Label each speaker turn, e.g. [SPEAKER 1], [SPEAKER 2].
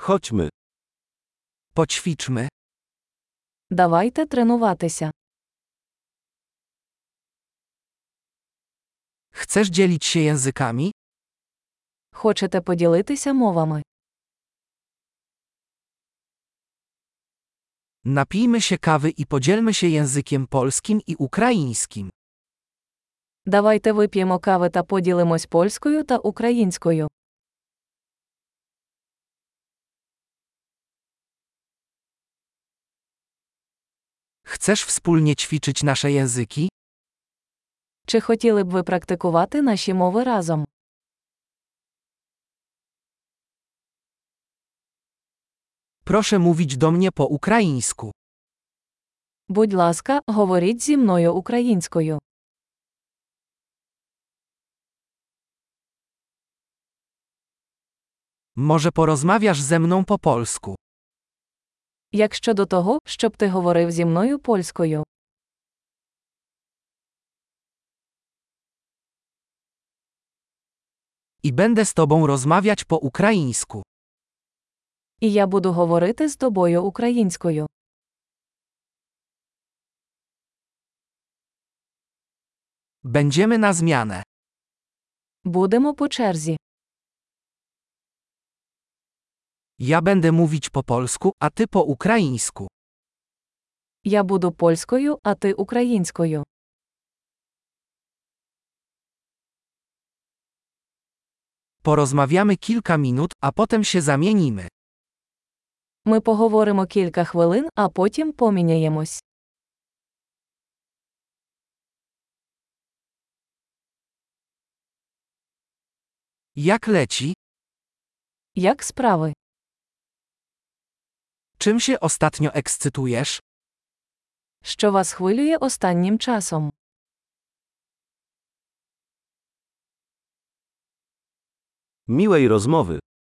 [SPEAKER 1] Chodźmy.
[SPEAKER 2] Poćwiczmy.
[SPEAKER 3] Давайте тренуватися.
[SPEAKER 2] Chcesz dzielić się językami?
[SPEAKER 3] Хочете поділитися мовами?
[SPEAKER 2] Napijmy się kawy i podzielmy się językiem polskim i ukraińskim.
[SPEAKER 3] Давайте вип'ємо кави та поділимось польською та українською.
[SPEAKER 2] Chcesz wspólnie ćwiczyć nasze języki?
[SPEAKER 3] Чи хотіли б ви практикувати наші мови разом?
[SPEAKER 2] Proszę mówić do mnie po ukraińsku.
[SPEAKER 3] Будь ласка, говоріть зі мною українською.
[SPEAKER 2] Może porozmawiasz ze mną po polsku?
[SPEAKER 3] Як щодо того, щоб ти говорив зі мною польською?
[SPEAKER 2] I będę z tobą rozmawiać po ukraińsku.
[SPEAKER 3] І я буду говорити з тобою українською.
[SPEAKER 2] Będziemy na zmianę.
[SPEAKER 3] Будемо по черзі.
[SPEAKER 2] Ja będę mówić po polsku, a ty po ukraińsku.
[SPEAKER 3] Я буду польською, а ти українською.
[SPEAKER 2] Porozmawiamy kilka minut, a potem się zamienimy.
[SPEAKER 3] Ми поговоримо кілька хвилин, а потім поміняємось.
[SPEAKER 2] Jak leci?
[SPEAKER 3] Як справи?
[SPEAKER 2] Czym się ostatnio ekscytujesz?
[SPEAKER 3] Що вас хвилює останнім часом?
[SPEAKER 1] Miłej rozmowy.